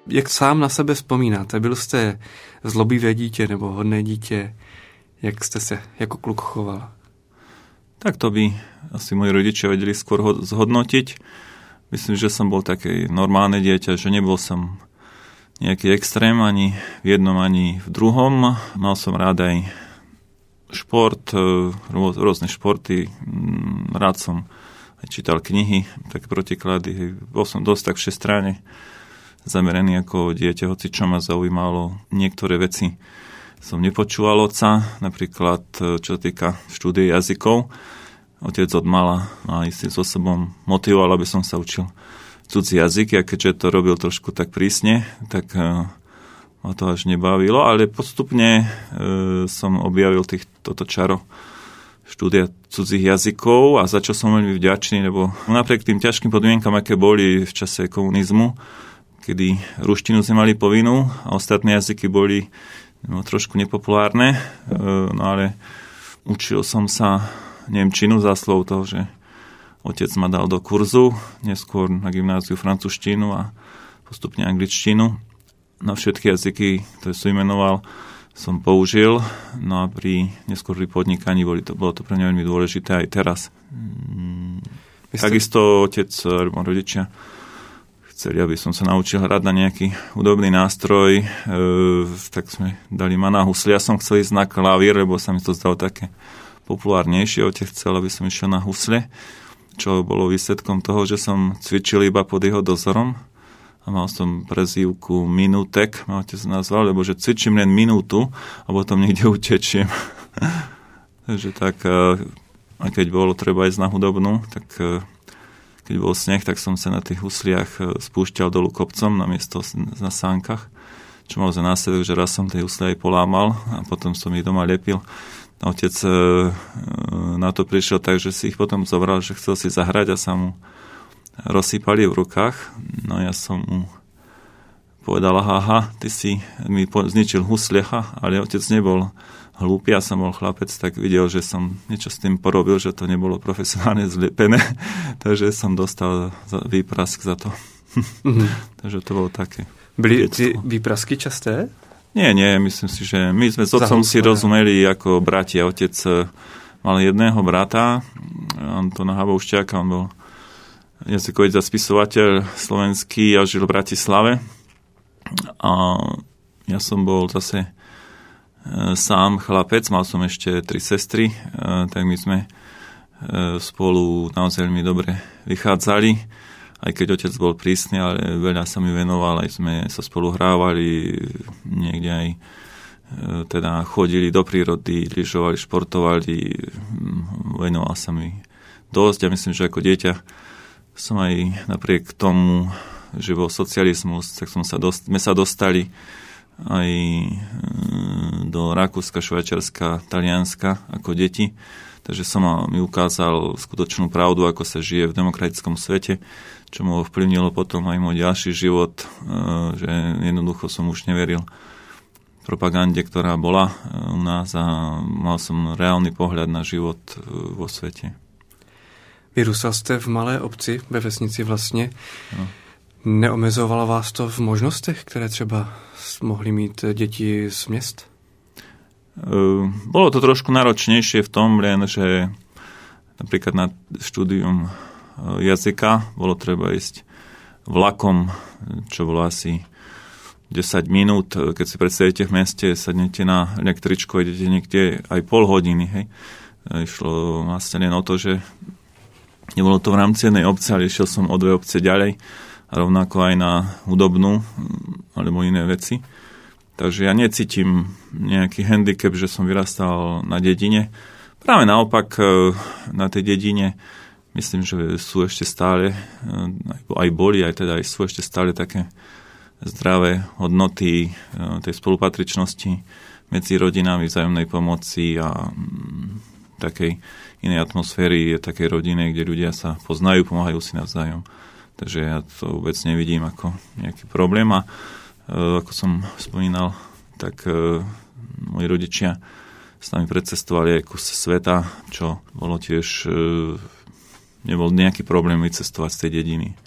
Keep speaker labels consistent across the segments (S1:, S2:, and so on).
S1: Jak sám na sebe vzpomínáte? Byl jste zlobivé dítě nebo hodné dítě? Jak jste se jako kluk choval?
S2: Tak to by asi moji rodičia vedeli skôr zhodnotiť. Myslím, že som bol také normálne dieťa, že nebol som nejaký extrém ani v jednom, ani v druhom. Mal som rád aj šport, rôzne športy. Rád som aj čítal knihy, tak protiklady. Bol som dosť tak všestranne zameraný ako dieťa, hoci čo ma zaujímalo. Niektoré veci som nepočúval otca, napríklad čo sa týka štúdie jazykov. Otec od mala ma istým spôsobom motivoval, aby som sa učil cudzí jazyky, a keďže to robil trošku tak prísne, tak ma to až nebavilo, ale postupne som objavil toto čaro štúdia cudzích jazykov a za čo som veľmi vďačný, lebo napriek tým ťažkým podmienkam, aké boli v čase komunizmu, kedy ruštinu sme mali povinnú a ostatné jazyky boli trošku nepopulárne, no ale učil som sa nemčinu záslov toho, že otec ma dal do kurzu, neskôr na gymnáziu francúzštinu a postupne angličtinu. Na všetky jazyky, ktoré som imenoval, som použil, no a neskôr pri podnikaní bolo to pre mňa veľmi dôležité aj teraz. Takisto otec alebo rodičia chceli, aby som sa naučil hrať na nejaký hudobný nástroj, tak sme dali ma na husle. Ja som chcel ísť na klavír, lebo sa mi to zdalo také populárnejšie. Otec chcel, aby som išiel na husle, čo bolo výsledkom toho, že som cvičil iba pod jeho dozorom a mal som prezývku Minútek, ma otec nazval, lebo že cvičím len minútu a potom niekde utečiem. Takže tak, a keď bolo treba ísť na hudobnú, tak keď bol sneh, tak som sa na tých husliach spúšťal dolu kopcom na miesto na sánkach, čo mal za následok, že raz som tie husle aj polámal a potom som ich doma lepil. A otec na to prišiel tak, že si ich potom zobral, že chcel si zahrať a sa mu rozsýpali v rukách. No ja som mu povedal, aha, ty si mi zničil huslecha, ale otec nebol hlúpy, ja som bol chlapec, tak videl, že som niečo s tým porobil, že to nebolo profesionálne zlepené, takže som dostal výprask za to. Mm-hmm. Takže to bolo také.
S1: Byli ty výprasky časté?
S2: Nie, myslím si, že my sme s otcom si rozumeli ako bratia. Otec mal jedného brata, Antona Haboušťáka, on bol jazykovec a spisovateľ slovenský a žil v Bratislave. A ja som bol zase sám chlapec, mal som ešte 3 sestry, tak my sme spolu naozaj veľmi dobre vychádzali, aj keď otec bol prísny, ale veľa sa mi venoval, aj sme sa spolu hrávali, niekde aj teda chodili do prírody, lyžovali, športovali, venoval sa mi dosť. Ja myslím, že ako dieťa som aj napriek tomu, že bol socializmus, tak sme sa dostali aj do Rakúska, Švajčiarska, Talianska ako deti. Takže som mi ukázal skutočnú pravdu, ako sa žije v demokratickom svete, čo mu ovplyvnilo potom aj môj ďalší život, že jednoducho som už neveril propagande, ktorá bola u nás a mal som reálny pohľad na život vo svete.
S1: Vyrůstal jste v malé obci, ve vesnici vlastně. No. Neomezovalo vás to v možnostech, které třeba mohli mít děti z měst?
S2: Bolo to trošku náročnejšie v tom, len, že napríklad na štúdium jazyka bolo treba ísť vlakom, čo bolo asi 10 minút. Keď si predstavíte v meste, sadnete na električku, idete niekde aj pol hodiny. Hej. Išlo vlastne len o to, že nebolo to v rámci jednej obce, ale išiel som o 2 obce ďalej a rovnako aj na hudobnú alebo iné veci. Takže ja necítim nejaký handicap, že som vyrastal na dedine. Práve naopak na tej dedine myslím, že sú ešte stále, aj boli, aj teda aj sú ešte stále také zdravé hodnoty tej spolupatričnosti medzi rodinami, vzájomnej pomoci a takej inej atmosféry, takej rodiny, kde ľudia sa poznajú, pomáhajú si navzájom. Takže ja to vôbec nevidím ako nejaký problém. A ako som spomínal, tak moji rodičia s nami precestovali aj kus sveta, čo bolo tiež, nebol nejaký problém vycestovať z tej dediny.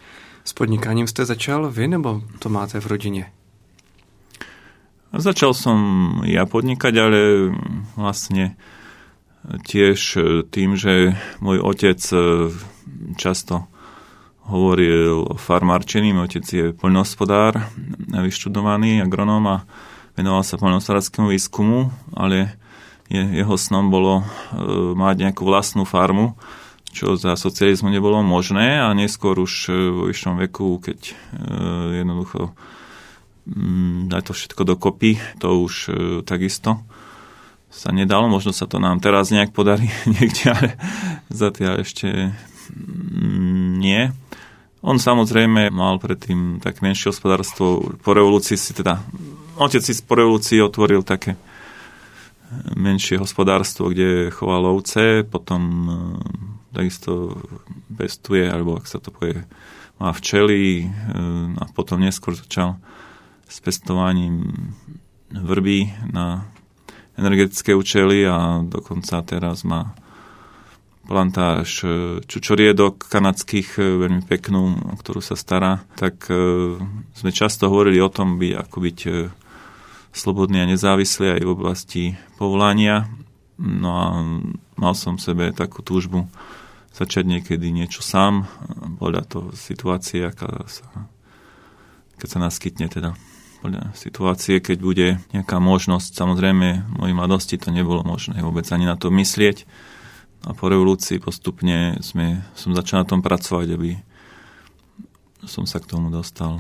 S1: S podnikáním jste začal vy, nebo to máte v rodině?
S2: Začal som ja podnikať, ale vlastne tiež tým, že môj otec často hovoril o farmárčení. Môj otec je poľnohospodár, vyštudovaný agronóm a venoval sa poľnohospodárskému výskumu, ale jeho snom bolo mať nejakú vlastnú farmu, čo za socializmu nebolo možné a neskôr už vo vyššom veku, keď jednoducho dať to všetko dokopy, to už takisto sa nedalo. Možno sa to nám teraz nejak podarí niekde, ale zatiaľ ešte nie. On samozrejme mal predtým tak menšie hospodárstvo. Po revolúcii otec si po revolúcii otvoril také menšie hospodárstvo, kde choval ovce, potom takisto pestuje, alebo ak sa to povie, má včely a potom neskôr začal s pestovaním vrby na energetické účely a dokonca teraz má plantáž čučoriedok kanadských, veľmi peknú, o ktorú sa stará. Tak sme často hovorili o tom, ako byť slobodný a nezávislý aj v oblasti povolania. No a mal som v sebe takú túžbu začať niekedy niečo sám, podľa toho situácie, keď sa naskytne teda. Podľa situácie, keď bude nejaká možnosť. Samozrejme, v mojej mladosti to nebolo možné vôbec ani na to myslieť. A po revolúcii postupne som začal na tom pracovať, aby som sa k tomu dostal.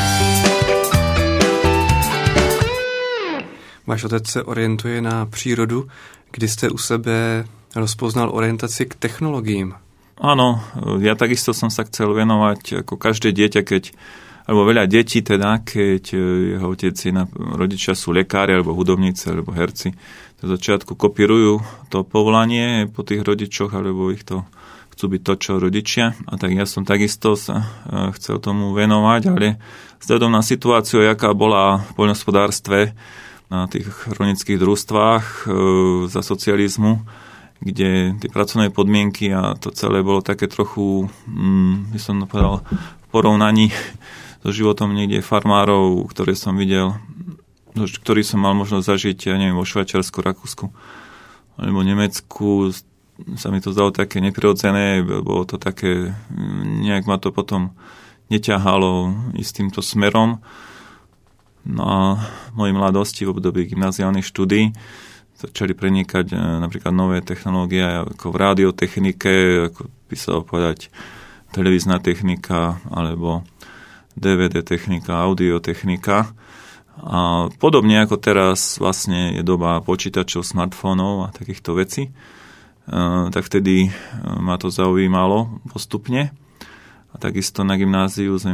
S1: Váš otec se orientuje na přírodu. Kdy jste u sebe rozpoznal orientaci k technologiím?
S2: Áno, ja takisto som sa chcel venovať ako každé dieťa, alebo veľa detí teda, keď jeho otec rodičia sú lekári, alebo hudobníci, alebo herci, to v začiatku kopírujú to povolanie po tých rodičoch, alebo ich to chcú byť to, čo rodičia. A tak ja som takisto sa chcel tomu venovať, ale vzhľadom na situáciu, jaká bola v poľnohospodárstve na tých rolnických družstvách za socializmu, kde tie pracovné podmienky a to celé bolo také trochu, by som povedal, v porovnaní so životom niekde farmárov, ktoré som videl, ktorý som mal možnosť zažiť, ja neviem, vo Švajčiarsku, Rakúsku alebo Nemecku, sa mi to zdalo také neprirodzené, bolo to také, nejak ma to potom neťahalo ísť týmto smerom. No a v mojej mladosti v období gymnáziálnych štúdií začali prenikať napríklad nové technológie ako v radiotechnike, ako by sa dalo povedať televízna technika alebo DVD technika, audiotechnika. A podobne ako teraz vlastne je doba počítačov, smartfónov a takýchto vecí, tak vtedy ma to zaujímalo postupne. A takisto na gymnáziu sme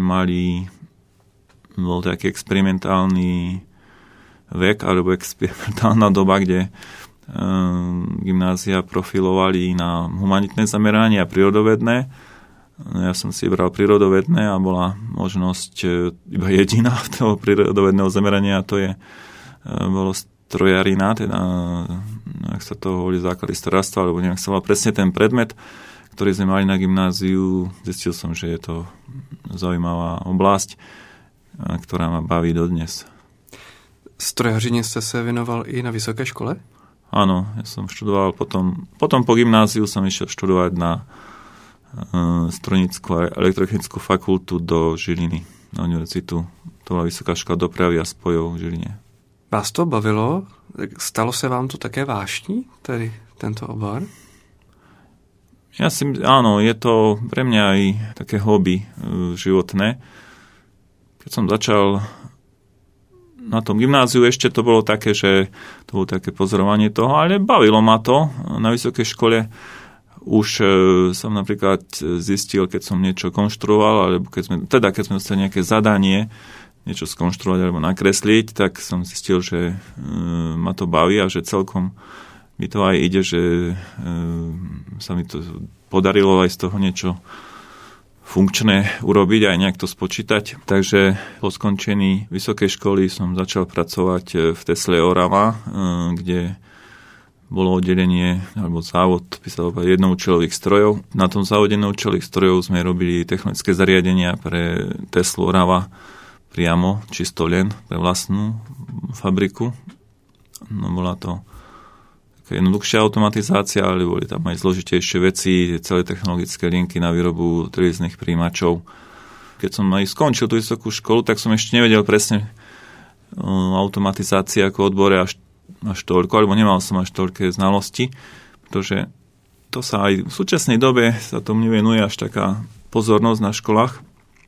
S2: bol taký experimentálny vek alebo experimentálna doba, kde gymnázia profilovali na humanitné zameranie a prírodovedné. Ja som si vybral prírodovedné a bola možnosť iba jediná toho prírodovedného zamerania a to bolo strojarina, teda ak sa to hovorí základy strojárstva, alebo nejak sa mal presne ten predmet, ktorý sme mali na gymnáziu. Zistil som, že je to zaujímavá oblasť, ktorá ma baví dodnes.
S1: Strojařině jste se věnoval i na vysoké škole?
S2: Áno, ja som študoval potom po gymnáziu som išiel študovať na strojnickú a elektrotechnickú fakultu do Žiliny, na univerzitu. To bola Vysoká škola dopravy a spojov v Žiline.
S1: Vás to bavilo? Stalo se vám to také vášní, tedy tento obor?
S2: Áno, je to pre mňa aj také hobby životné. Keď som začal na tom gymnáziu, ešte to bolo také, že to bolo také pozorovanie toho, ale bavilo ma to. Na vysokej škole už som napríklad zistil, keď som niečo konštruoval, alebo keď sme dostali nejaké zadanie, niečo skonštruovať alebo nakresliť, tak som zistil, že ma to baví a že celkom mi to aj ide, že sa mi to podarilo aj z toho niečo funkčné urobiť, aj nejak to spočítať. Takže po skončení vysokej školy som začal pracovať v Tesle Orava, kde bolo oddelenie, alebo závod, by sa povedal, jednoučelových strojov. Na tom závode jednoučelových strojov sme robili technické zariadenia pre Teslu Orava priamo, čisto len pre vlastnú fabriku. No bola to taká jednoduchšia automatizácia, ale boli tam aj zložitejšie veci, celé technologické linky na výrobu televíznych príjimačov. Keď som aj skončil tú vysokú školu, tak som ešte nevedel presne automatizácie ako odbore až toľko, alebo nemal som až toľké znalosti, pretože to sa aj v súčasnej dobe sa tomu nevenuje až taká pozornosť na školách.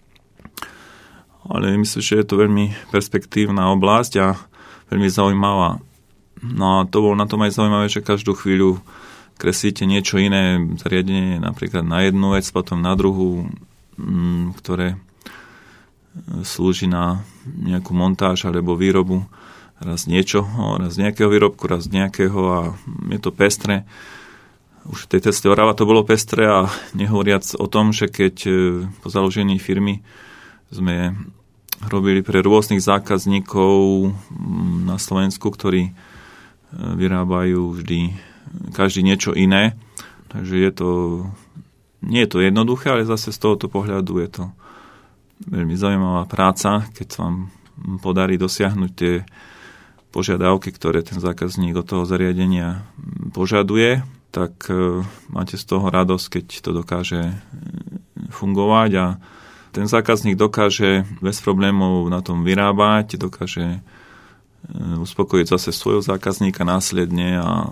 S2: Ale myslím, že je to veľmi perspektívna oblasť a veľmi zaujímavá. No a to bolo na tom aj zaujímavé, že každú chvíľu kreslíte niečo iné, zariadenie napríklad na jednu vec, potom na druhú, ktoré slúži na nejakú montáž alebo výrobu raz niečoho, raz nejakého výrobku, raz nejakého a je to pestré. Už v tej Tesle Orava to bolo pestré a nehovoriac o tom, že keď po založení firmy sme robili pre rôznych zákazníkov na Slovensku, ktorí vyrábajú vždy každý niečo iné. Takže nie je to jednoduché, ale zase z tohoto pohľadu je to veľmi zaujímavá práca, keď sa vám podarí dosiahnuť tie požiadavky, ktoré ten zákazník od toho zariadenia požaduje, tak máte z toho radosť, keď to dokáže fungovať a ten zákazník dokáže bez problémov na tom vyrábať, dokáže uspokojiť zase svojho zákazníka následne a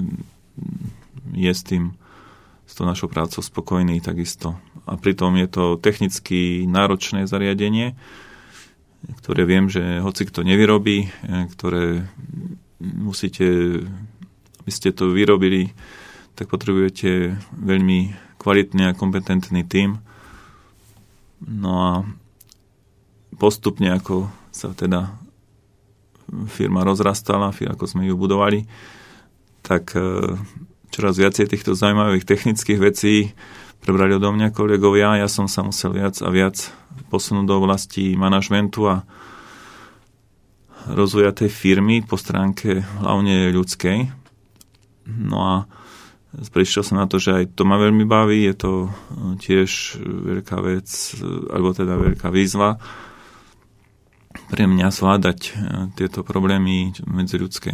S2: je s tou našou prácou spokojný takisto. A pritom je to technicky náročné zariadenie, ktoré viem, že hoci kto nevyrobí, ktoré musíte, aby ste to vyrobili, tak potrebujete veľmi kvalitný a kompetentný tím. No a postupne, ako sa teda firma rozrastala, ako sme ju budovali, tak čoraz viacej týchto zaujímavých technických vecí prebrali odo mňa kolegovia. Ja som sa musel viac a viac posunúť do oblasti manažmentu a rozvoja tej firmy po stránke hlavne ľudskej. No a prišiel som na to, že aj to ma veľmi baví, je to tiež veľká vec, alebo teda veľká výzva pre mňa zvládať tieto problémy medziľudské.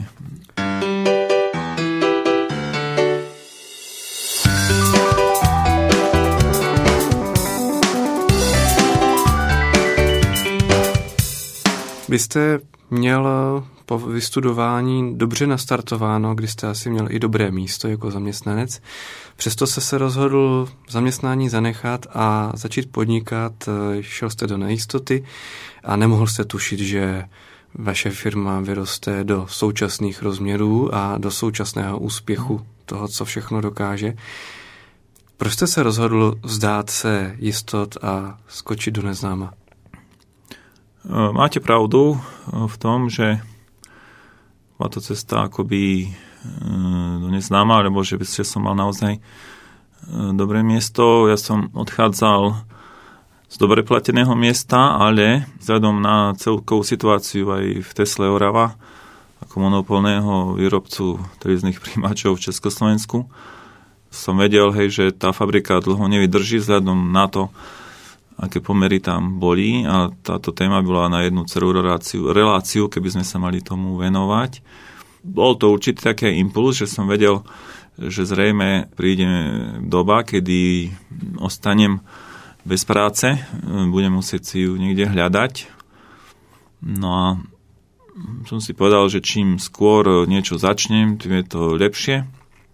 S1: Vy jste měl po vystudování dobře nastartováno, kdy jste asi měl i dobré místo jako zaměstnanec. Přesto se rozhodl zaměstnání zanechat a začít podnikat. Šel jste do nejistoty a nemohl jste tušit, že vaše firma vyroste do současných rozměrů a do současného úspěchu toho, co všechno dokáže. Proč jste se rozhodl vzdát se jistot a skočit do neznáma?
S2: Máte pravdu v tom, že bola to cesta akoby do neznáma, alebo že som mal naozaj dobré miesto. Ja som odchádzal z dobre plateného miesta, ale vzhľadom na celkovú situáciu aj v Tesle Orava ako monopolného výrobcu televíznych príjimačov v Československu som vedel, že tá fabrika dlho nevydrží vzhľadom na to, aké pomery tam boli a táto téma bola na jednu celú reláciu, keby sme sa mali tomu venovať. Bol to určitý taký impuls, že som vedel, že zrejme príde doba, kedy ostanem bez práce, budem musieť si ju niekde hľadať. No a som si povedal, že čím skôr niečo začnem, tým je to lepšie.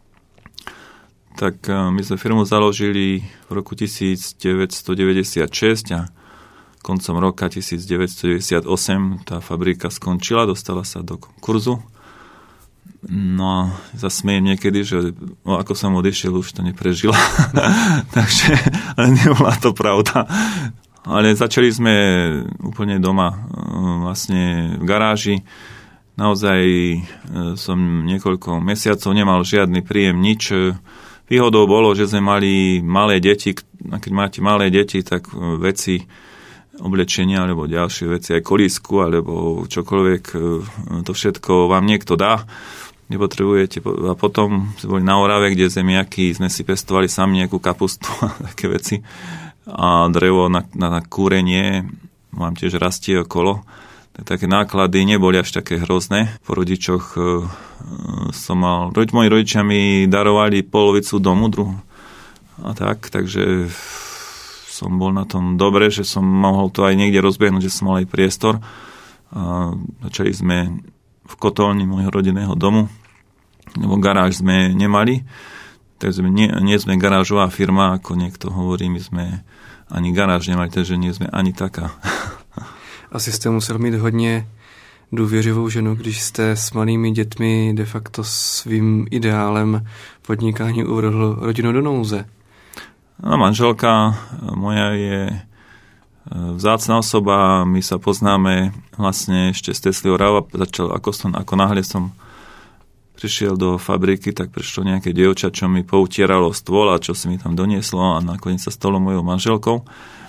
S2: Tak my sme firmu založili v roku 1996 a koncom roka 1998 tá fabrika skončila, dostala sa do konkurzu. No a zasmiejem niekedy, že ako som odišiel, už to neprežila. Takže ale nebola to pravda. Ale začali sme úplne doma, vlastne v garáži. Naozaj som niekoľko mesiacov nemal žiadny príjem, nič. Výhodou bolo, že sme mali malé deti, a keď máte malé deti, tak veci, oblečenia alebo ďalšie veci, aj kolísku alebo čokoľvek, to všetko vám niekto dá. nepotrebujete. A potom sme boli na Orave, kde zemiaky sme si pestovali sami nejakú kapustu a také veci. A drevo na kúrenie mám tiež rastie okolo. Také náklady neboli až také hrozné. Po rodičoch som mal... Moji rodičia mi darovali polovicu domu, a takže som bol na tom dobre, že som mohol to aj niekde rozbehnúť, že som mal aj priestor. A začali sme v kotolni môjho rodinného domu, lebo garáž sme nemali. Takže nie sme garážová firma, ako niekto hovorí, my sme ani garáž nemali, takže nie sme ani taká.
S1: Asi jste musel mít hodně důvěřivou ženu, když jste s malými dětmi de facto svým ideálem podnikání uvrhl rodinu do nouze.
S2: No, manželka moja je vzácna osoba, my sa poznáme vlastne ešte z Tesly Orava. Ako náhle som prišiel do fabriky, tak prišlo nejaké dievča, čo mi poutieralo stôl a čo si mi tam donieslo a nakoniec sa stalo mojou manželkou.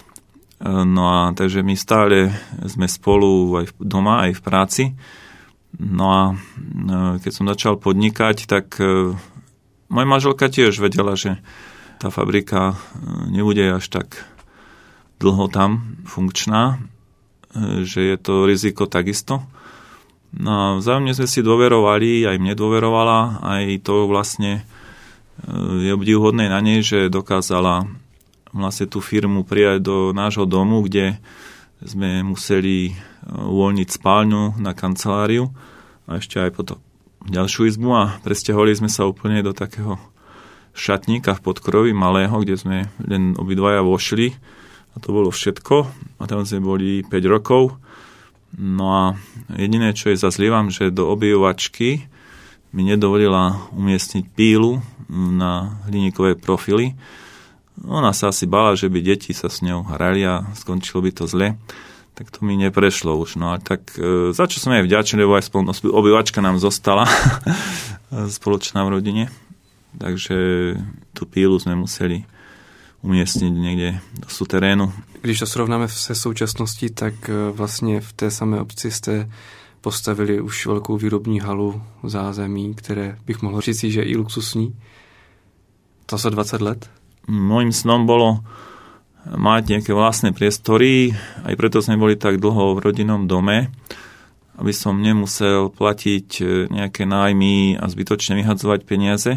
S2: No a takže my stále sme spolu aj doma, aj v práci. No a keď som začal podnikať, tak moja manželka tiež vedela, že tá fabrika nebude až tak dlho tam funkčná, že je to riziko takisto. No a vzájomne sme si dôverovali, aj mne dôverovala, aj to vlastne je obdivuhodné na nej, že dokázala vlastne tú firmu prijať do nášho domu, kde sme museli uvoľniť spálňu na kanceláriu a ešte aj potom ďalšiu izbu a presťahovali sme sa úplne do takého šatníka v podkroví malého, kde sme len obidvaja vošli a to bolo všetko a tam sme boli 5 rokov. No a jediné, čo je zazlievam, že do obývačky mi nedovolila umiestniť pílu na hliníkové profily. Ona sa asi bála, že by deti sa s ňou hrali a skončilo by to zle. Tak to mi neprešlo už. No a tak za čo som aj vďačný, lebo aj obývačka nám zostala spoločná v rodine. Takže tú pílu sme museli umiestniť niekde do suterénu.
S1: Když to srovnáme se současností, tak vlastně v té samé obci jste postavili už velkou výrobní halu zázemí, které bych mohl říct, že je i luxusní. To za 20 let?
S2: Mojím snom bolo mať nejaké vlastné priestory, aj preto sme boli tak dlho v rodinnom dome, aby som nemusel platiť nejaké nájmy a zbytočne vyhadzovať peniaze.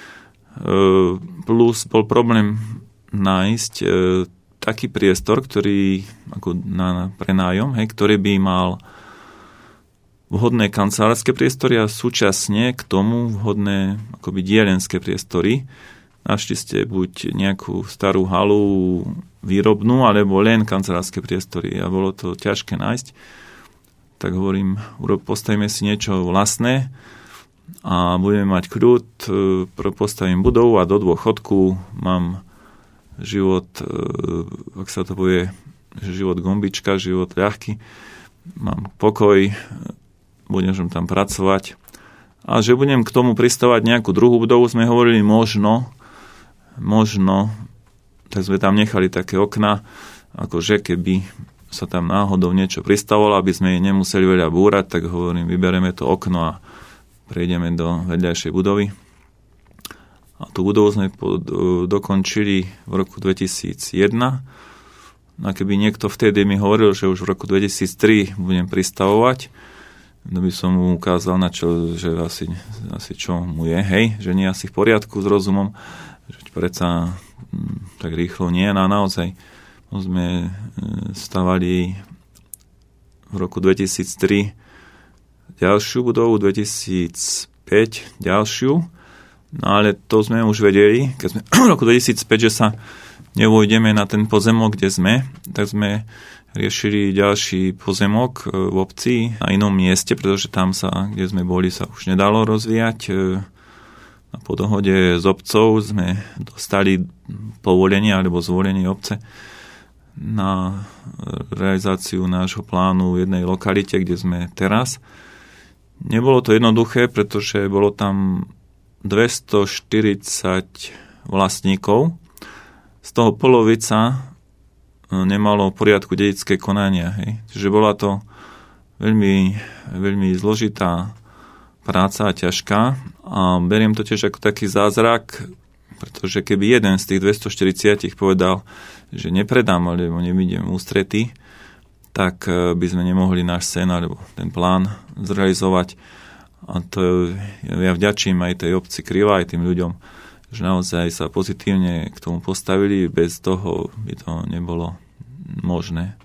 S2: Plus bol problém nájsť taký priestor, ktorý ako na prenájom, ktorý by mal vhodné kancelárske priestory a súčasne k tomu vhodné akoby dielenské priestory. Našli ste buď nejakú starú halu výrobnú, alebo len kancelárske priestory a bolo to ťažké nájsť. Tak hovorím, postavíme si niečo vlastné a budeme mať kľud, postavím budovu a do dôchodku mám život, ak sa to povie, život gombička, život ľahký, mám pokoj, budem tam pracovať a že budem k tomu pristavať nejakú druhú budovu, sme hovorili možno, tak sme tam nechali také okna, akože keby sa tam náhodou niečo pristavalo, aby sme nemuseli veľa búrať, tak hovorím, vybereme to okno a prejdeme do vedľajšej budovy. A tú budovu sme dokončili v roku 2001. A keby niekto vtedy mi hovoril, že už v roku 2003 budem pristavovať, no by som mu ukázal, na čo, že asi čo mu je, hej, že nie asi v poriadku s rozumom, že predsa tak rýchlo nie, a naozaj sme stavali v roku 2003 ďalšiu budovu, 2005 ďalšiu, no ale to sme už vedeli, keď sme v roku 2005, že sa nevojdeme na ten pozemok, kde sme, tak sme riešili ďalší pozemok v obci na inom mieste, pretože tam sa, kde sme boli, sa už nedalo rozvíjať. A po dohode s obcov sme dostali povolenie alebo zvolenie obce na realizáciu nášho plánu v jednej lokalite, kde sme teraz. Nebolo to jednoduché, pretože bolo tam 240 vlastníkov. Z toho polovica nemalo v poriadku dedičské konania. Hej. Čiže bola to veľmi, veľmi zložitá práca a ťažká a beriem to tiež ako taký zázrak, pretože keby jeden z tých 240 povedal, že nepredám alebo nevidím ústrety, tak by sme nemohli náš sen alebo ten plán zrealizovať. A to ja vďačím aj tej obci Krivá, aj tým ľuďom, že naozaj sa pozitívne k tomu postavili, bez toho by to nebolo možné.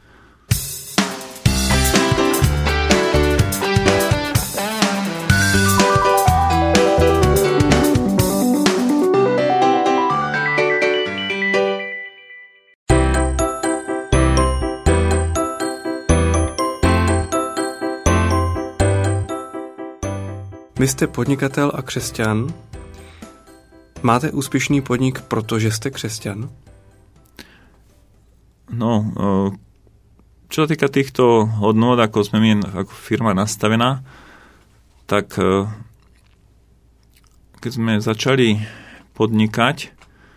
S1: Vy jste podnikatel a křesťan. Máte úspěšný podnik, protože jste křesťan?
S2: No, čo sa týka týchto hodnôt, ako sme my ako firma nastavená, tak keď sme začali podnikať,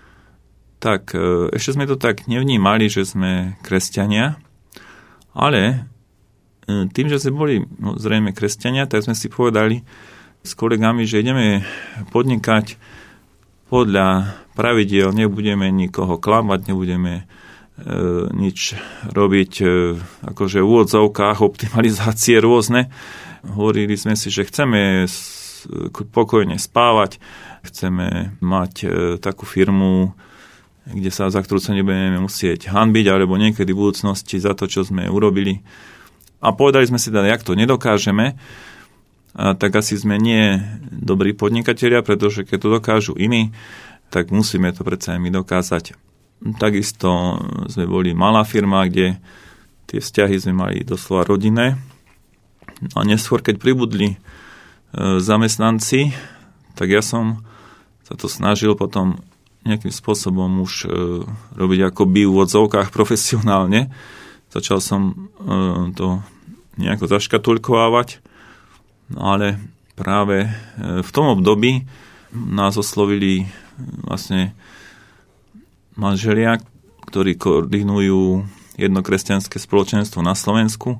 S2: tak ešte sme to tak nevnímali, že sme kresťania, ale tým, že sme boli zrejme kresťania, tak sme si povedali s kolegami, že ideme podnikať podľa pravidiel, nebudeme nikoho klamať, nebudeme nič robiť akože v úvodzovkách, optimalizácie rôzne. Hovorili sme si, že chceme pokojne spávať, chceme mať takú firmu, za ktorú sa nebudeme musieť hanbiť, alebo niekedy v budúcnosti za to, čo sme urobili. A povedali sme si, jak to nedokážeme, tak asi sme nie dobrí podnikatelia, pretože keď to dokážu iní, tak musíme to predsa aj my dokázať. Takisto sme boli malá firma, kde tie vzťahy sme mali doslova rodinné. A neskôr, keď pribudli zamestnanci, tak ja som sa to snažil potom nejakým spôsobom už robiť akoby v odzovkách profesionálne. Začal som to nejako zaškatulkovávať, ale práve v tom období nás oslovili vlastne manželia, ktorí koordinujú jedno kresťanské spoločenstvo na Slovensku.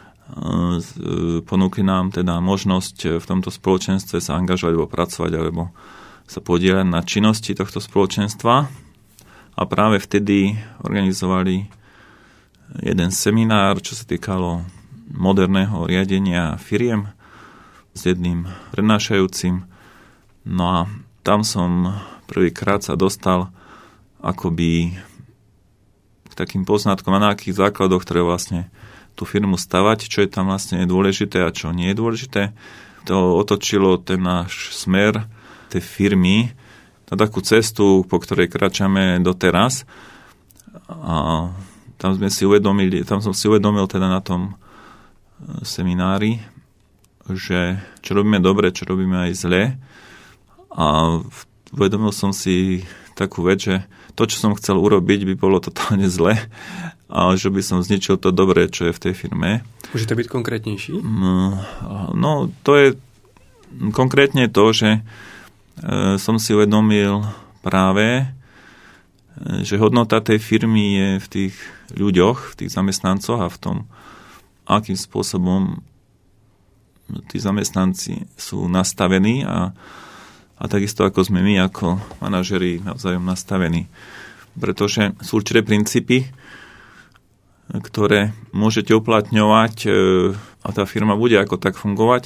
S2: Ponúkli nám teda možnosť v tomto spoločenstve sa angažovať alebo pracovať alebo sa podieľať na činnosti tohto spoločenstva. A práve vtedy organizovali jeden seminár, čo sa týkalo moderného riadenia firiem s jedným prednášajúcim. No a tam som prvýkrát sa dostal akoby k takým poznatkom, na akých základoch ktoré vlastne tú firmu stavať, čo je tam vlastne dôležité a čo nie je dôležité. To otočilo ten náš smer tej firmy na takú cestu, po ktorej kráčame doteraz. A tam som si uvedomil teda na tom seminári, že čo robíme dobre, čo robíme aj zle. A uvedomil som si takú vec, že to, čo som chcel urobiť, by bolo totálne zle a že by som zničil to dobré, čo je v tej firme.
S1: Môžete byť konkrétnejší?
S2: No, to je konkrétne to, že som si uvedomil práve, že hodnota tej firmy je v tých ľuďoch, v tých zamestnancoch a v tom, akým spôsobom tí zamestnanci sú nastavení a takisto ako sme my ako manažeri navzájom nastavení. Pretože sú určité princípy, ktoré môžete uplatňovať a tá firma bude ako tak fungovať,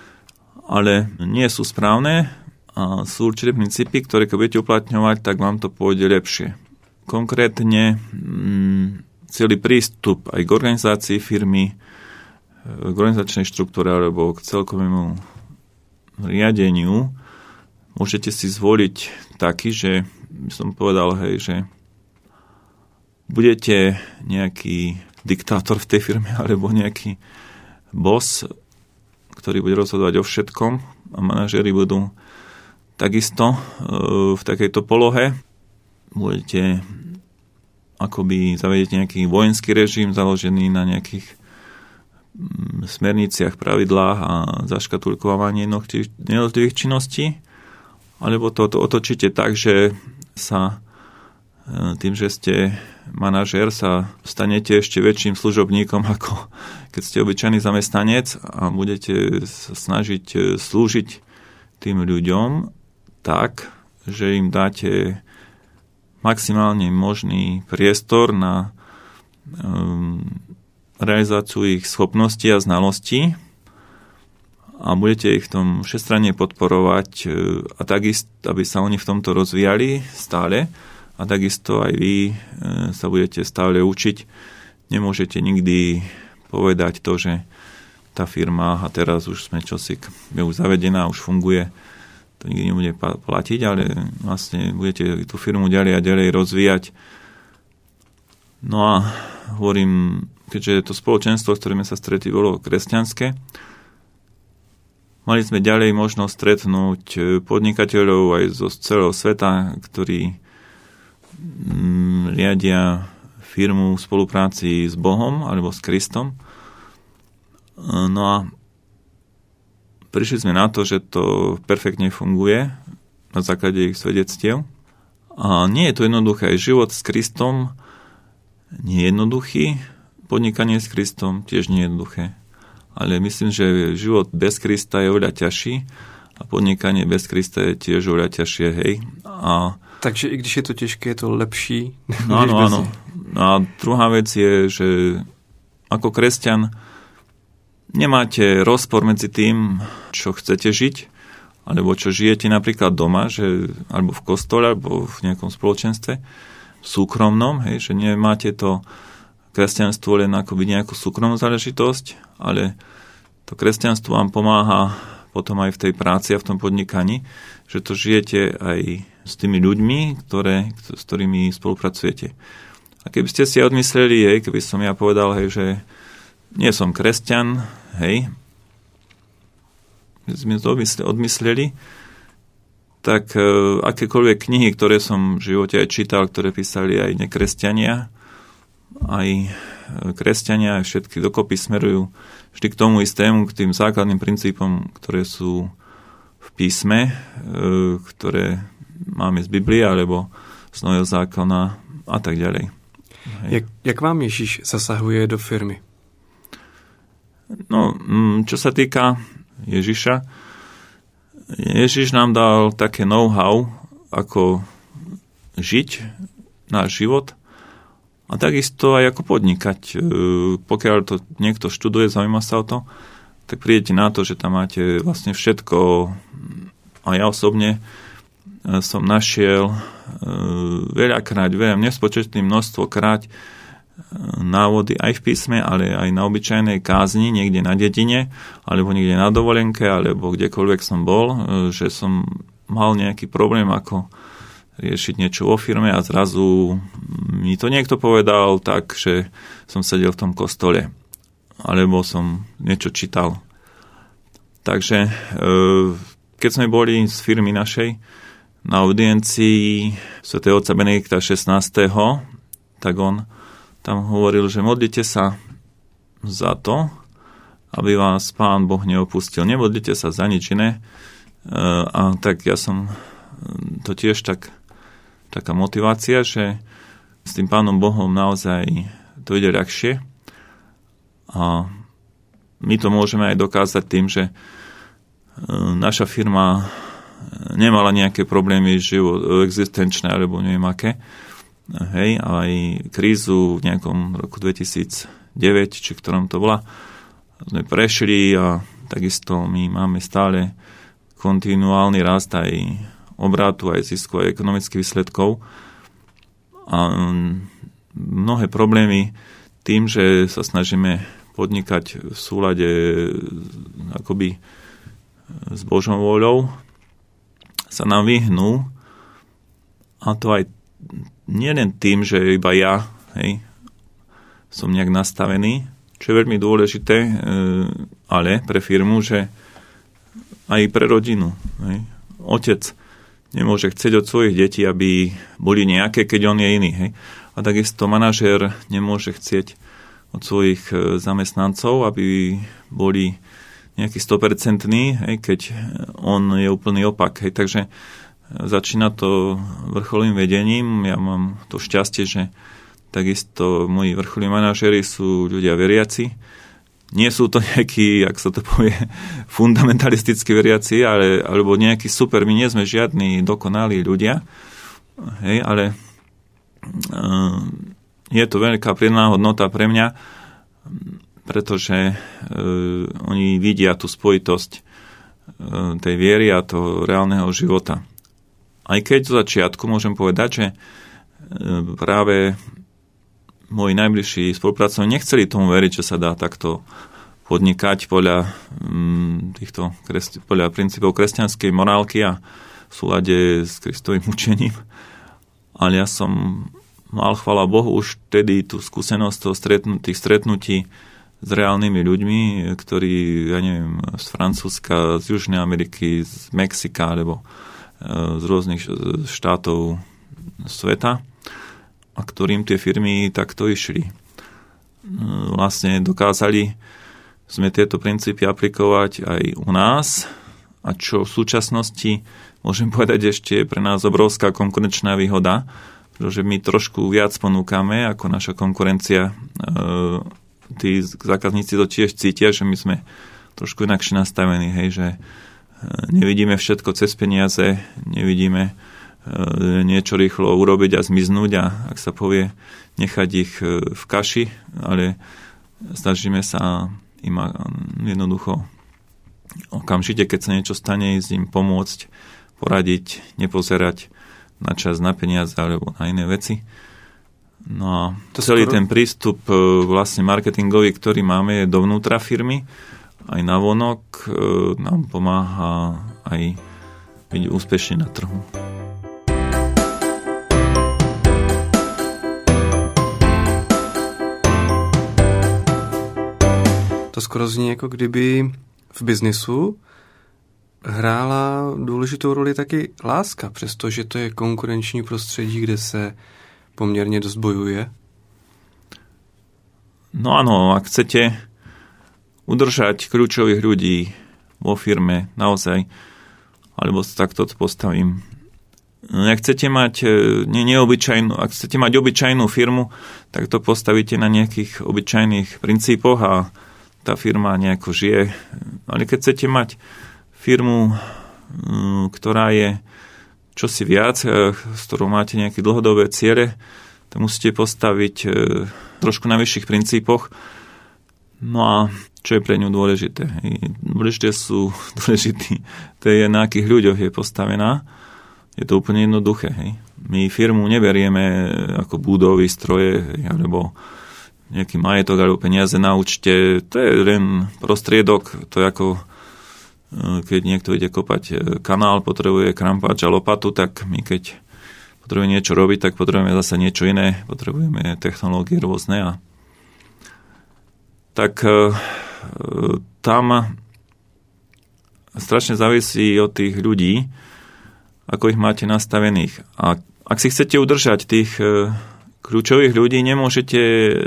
S2: ale nie sú správne a sú určité princípy, ktoré keď budete uplatňovať, tak vám to pôjde lepšie. Konkrétne celý prístup aj k organizácii firmy, k organizačnej štruktúre alebo k celkovému riadeniu môžete si zvoliť taký, že by som povedal, že budete nejaký diktátor v tej firme alebo nejaký boss, ktorý bude rozhodovať o všetkom a manažéri budú takisto v takejto polohe. Budete akoby zavedieť nejaký vojenský režim založený na nejakých smerniciach, pravidlách a zaškatulkovanie jednotlivých činností, alebo to otočíte tak, že sa tým, že ste manažér, sa stanete ešte väčším služobníkom, ako keď ste obyčajný zamestnanec a budete sa snažiť slúžiť tým ľuďom tak, že im dáte maximálne možný priestor na realizáciu ich schopností a znalostí a budete ich v tom všestranne podporovať a takisto, aby sa oni v tomto rozvíjali stále a takisto aj vy sa budete stále učiť. Nemôžete nikdy povedať to, že tá firma a teraz už sme je už zavedená, už funguje, to nikdy nebude platiť, ale vlastne budete tú firmu ďalej a ďalej rozvíjať. No a hovorím, keďže to spoločenstvo, s ktorým sa stretli, bolo kresťanské, mali sme ďalej možnosť stretnúť podnikateľov aj zo celého sveta, ktorí riadia firmu v spolupráci s Bohom alebo s Kristom. No a prišli sme na to, že to perfektne funguje na základe ich svedectiev. A nie je to jednoduché. Život s Kristom nie je jednoduchý, podnikanie s Kristom tiež nie je jednoduché. Ale myslím, že život bez Krista je oveľa ťažší a podnikanie bez Krista je tiež oveľa ťažšie, hej.
S1: Takže i když je to těžké, je to lepší.
S2: No áno. A druhá vec je, že ako kresťan nemáte rozpor medzi tým, čo chcete žiť, alebo čo žijete napríklad doma, alebo v kostole, alebo v nejakom spoločenstve, súkromnom, hej, že nemáte to kresťanstvo len akoby nejakú súkromnú záležitosť, ale to kresťanstvo vám pomáha potom aj v tej práci a v tom podnikaní, že to žijete aj s tými ľuďmi, s ktorými spolupracujete. A keby ste si odmysleli, keby som ja povedal, že nie som kresťan, keď sme to odmysleli, tak akékoľvek knihy, ktoré som v živote aj čítal, ktoré písali aj nekresťania, aj kresťania, aj všetky dokopy smerujú vždy k tomu istému, k tým základným princípom, ktoré sú v písme, ktoré máme z Biblie alebo z Nového zákona a tak ďalej.
S1: Jak vám Ježíš zasahuje do firmy?
S2: No, čo sa týka Ježiša, Ježiš nám dal také know-how, ako žiť náš život a takisto aj ako podnikať. Pokiaľ to niekto študuje, zaujíma sa o to, tak prídete na to, že tam máte vlastne všetko. A ja osobne som našiel veľakrát, nespočetné množstvo krát návody aj v písme, ale aj na obyčajnej kázni, niekde na dedine, alebo niekde na dovolenke, alebo kdekoľvek som bol, že som mal nejaký problém, ako riešiť niečo vo firme a zrazu mi to niekto povedal tak, že som sedel v tom kostole, alebo som niečo čítal. Takže keď sme boli z firmy našej na audiencii svätého otca Benedikta XVI, tak on tam hovoril, že modlite sa za to, aby vás Pán Boh neopustil. Nemodlite sa za nič iné. A tak ja som to tiež taká motivácia, že s tým Pánom Bohom naozaj to ide ľahšie. A my to môžeme aj dokázať tým, že naša firma nemala nejaké problémy existenčné alebo neviem aké. Aj krízu v nejakom roku 2009, či v ktorom to bola, sme prešli a takisto my máme stále kontinuálny rast aj obratu, aj zisku, aj ekonomických výsledkov. A mnohé problémy tým, že sa snažíme podnikať v súlade akoby s Božou vôľou, sa nám vyhnú, a to aj nie len tým, že iba ja som nejak nastavený, čo je veľmi dôležité, ale pre firmu, že aj pre rodinu. Otec nemôže chcieť od svojich detí, aby boli nejaké, keď on je iný. A takisto manažér nemôže chcieť od svojich zamestnancov, aby boli nejaký 100%, keď on je úplný opak. Takže Začína to vrcholným vedením. Ja mám to šťastie, že takisto moji vrcholní manažéri sú ľudia veriaci. Nie sú to nejakí, ak sa to povie, fundamentalisticky veriaci, alebo nejakí super. My nie sme žiadni dokonalí ľudia. Hej, ale je to veľká pridaná hodnota pre mňa, pretože oni vidia tú spojitosť tej viery a toho reálneho života. Aj keď zo začiatku môžem povedať, že práve moji najbližší spolupracovníci nechceli tomu veriť, že sa dá takto podnikať podľa podľa princípov kresťanskej morálky a v súlade s Kristovým učením. Ale ja som mal, chvála Bohu, už vtedy tú skúsenosť tých stretnutí s reálnymi ľuďmi, ktorí, ja neviem, z Francúzska, z Južnej Ameriky, z Mexika, alebo z rôznych štátov sveta, a ktorým tie firmy takto išli. Vlastne dokázali sme tieto princípy aplikovať aj u nás, a čo v súčasnosti môžem povedať ešte je pre nás obrovská konkurenčná výhoda, pretože my trošku viac ponúkame ako naša konkurencia. Tí zákazníci to tiež cítia, že my sme trošku inakšie nastavení, hej, že nevidíme všetko cez peniaze, nevidíme niečo rýchlo urobiť a zmiznúť a, ak sa povie, nechať ich v kaši, ale snažíme sa im jednoducho okamžite, keď sa niečo stane, s ním pomôcť, poradiť, nepozerať na čas, na peniaze alebo na iné veci. No a celý ten prístup vlastne marketingový, ktorý máme, je dovnútra firmy, aj navonok nám pomáha aj byť úspešný na trhu.
S1: To skoro zní, jako kdyby v biznisu hrála důležitou roli taky láska, přestože to je konkurenční prostředí, kde se poměrně dost bojuje.
S2: No áno, ak chcete udržať kľúčových ľudí vo firme naozaj, alebo takto to postavím. Ak chcete mať ak chcete mať obyčajnú firmu, tak to postavíte na nejakých obyčajných princípoch a tá firma nejako žije. Ale keď chcete mať firmu, ktorá je čosi viac, s ktorou máte nejaké dlhodobé ciele, to musíte postaviť trošku na vyšších princípoch. No a čo je pre ňu dôležité? Dôležité to je, na akých ľuďoch je postavená. Je to úplne jednoduché. Hej. My firmu neberieme ako budovy, stroje, alebo nejaký majetok alebo peniaze na účte. To je len prostriedok. To je ako keď niekto ide kopať kanál, potrebuje krampáč a lopatu, tak my keď potrebujeme niečo robiť, tak potrebujeme zase niečo iné. Potrebujeme technológie rôzne a tak tam strašne závisí od tých ľudí, ako ich máte nastavených. A ak si chcete udržať tých kľúčových ľudí, nemôžete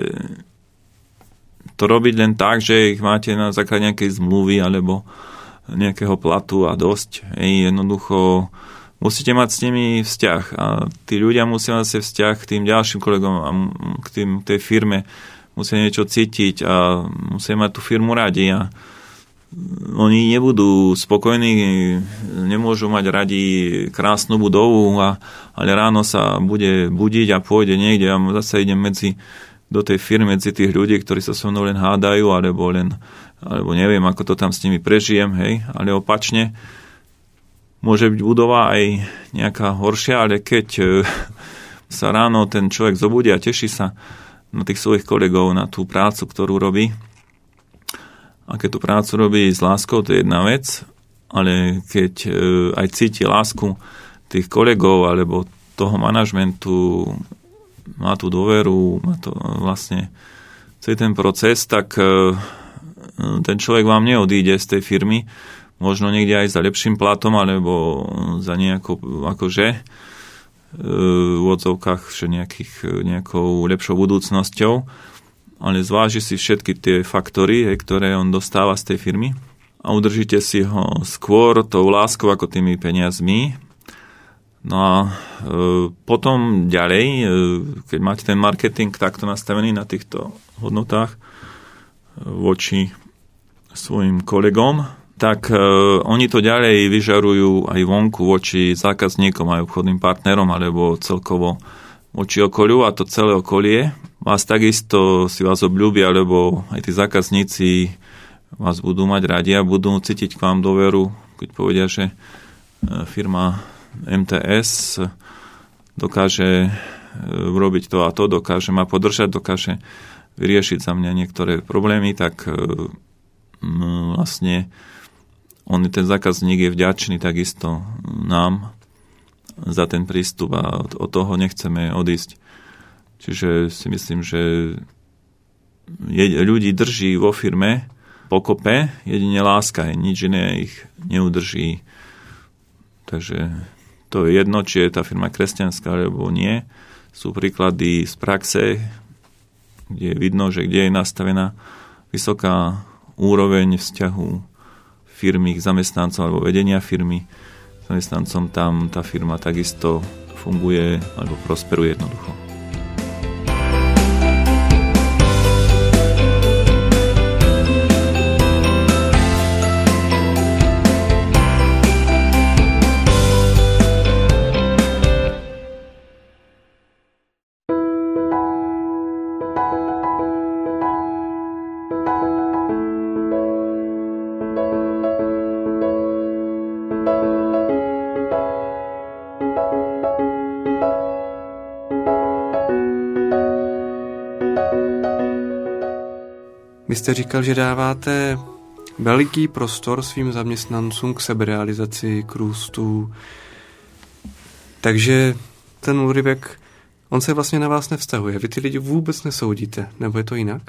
S2: to robiť len tak, že ich máte na základe nejakej zmluvy alebo nejakého platu a dosť. Jednoducho musíte mať s nimi vzťah a tí ľudia musia mať vzťah k tým ďalším kolegom a k tej firme, musia niečo cítiť a musia mať tú firmu radi a oni nebudú spokojní, nemôžu mať radi krásnu budovu, ale ráno sa bude budiť a pôjde niekde a zase idem do tej firmy medzi tých ľudí, ktorí sa so mnou len hádajú alebo neviem, ako to tam s nimi prežijem, hej, ale opačne môže byť budova aj nejaká horšia, ale keď sa ráno ten človek zobudí a teší sa na tých svojich kolegov, na tú prácu, ktorú robí. A keď tú prácu robí s láskou, to je jedna vec, ale keď aj cíti lásku tých kolegov alebo toho manažmentu, má tú dôveru, má to vlastne celý ten proces, tak ten človek vám neodíde z tej firmy, možno niekde aj za lepším platom, alebo za nejakou v odzovkách, že nejakou lepšou budúcnosťou, ale zváži si všetky tie faktory, ktoré on dostáva z tej firmy a udržíte si ho skôr tou láskou ako tými peniazmi. No a potom ďalej, keď máte ten marketing takto nastavený na týchto hodnotách voči svojim kolegom, tak oni to ďalej vyžarujú aj vonku voči zákazníkom, aj obchodným partnerom, alebo celkovo voči okoliu, a to celé okolie vás takisto si vás obľúbia, lebo aj tí zákazníci vás budú mať radi a budú cítiť k vám dôveru, keď povedia, že firma MTS dokáže urobiť to a to, dokáže ma podržať, dokáže vyriešiť za mňa niektoré problémy, tak vlastne ten zákazník je vďačný takisto nám za ten prístup a od toho nechceme odísť. Čiže si myslím, že ľudí drží vo firme pokope, jedine láska, nič iné ich neudrží. Takže to je jedno, či je tá firma kresťanská, alebo nie. Sú príklady z praxe, kde je vidno, že kde je nastavená vysoká úroveň vzťahu firmy k zamestnancom alebo vedenia firmy k zamestnancom, tam tá firma takisto funguje alebo prosperuje jednoducho.
S1: Vy jste říkal, že dáváte veliký prostor svým zaměstnancům k seberealizaci, k růstu. Takže ten úryvek, on se vlastně na vás nevztahuje. Vy ty lidi vůbec nesoudíte, nebo je to jinak?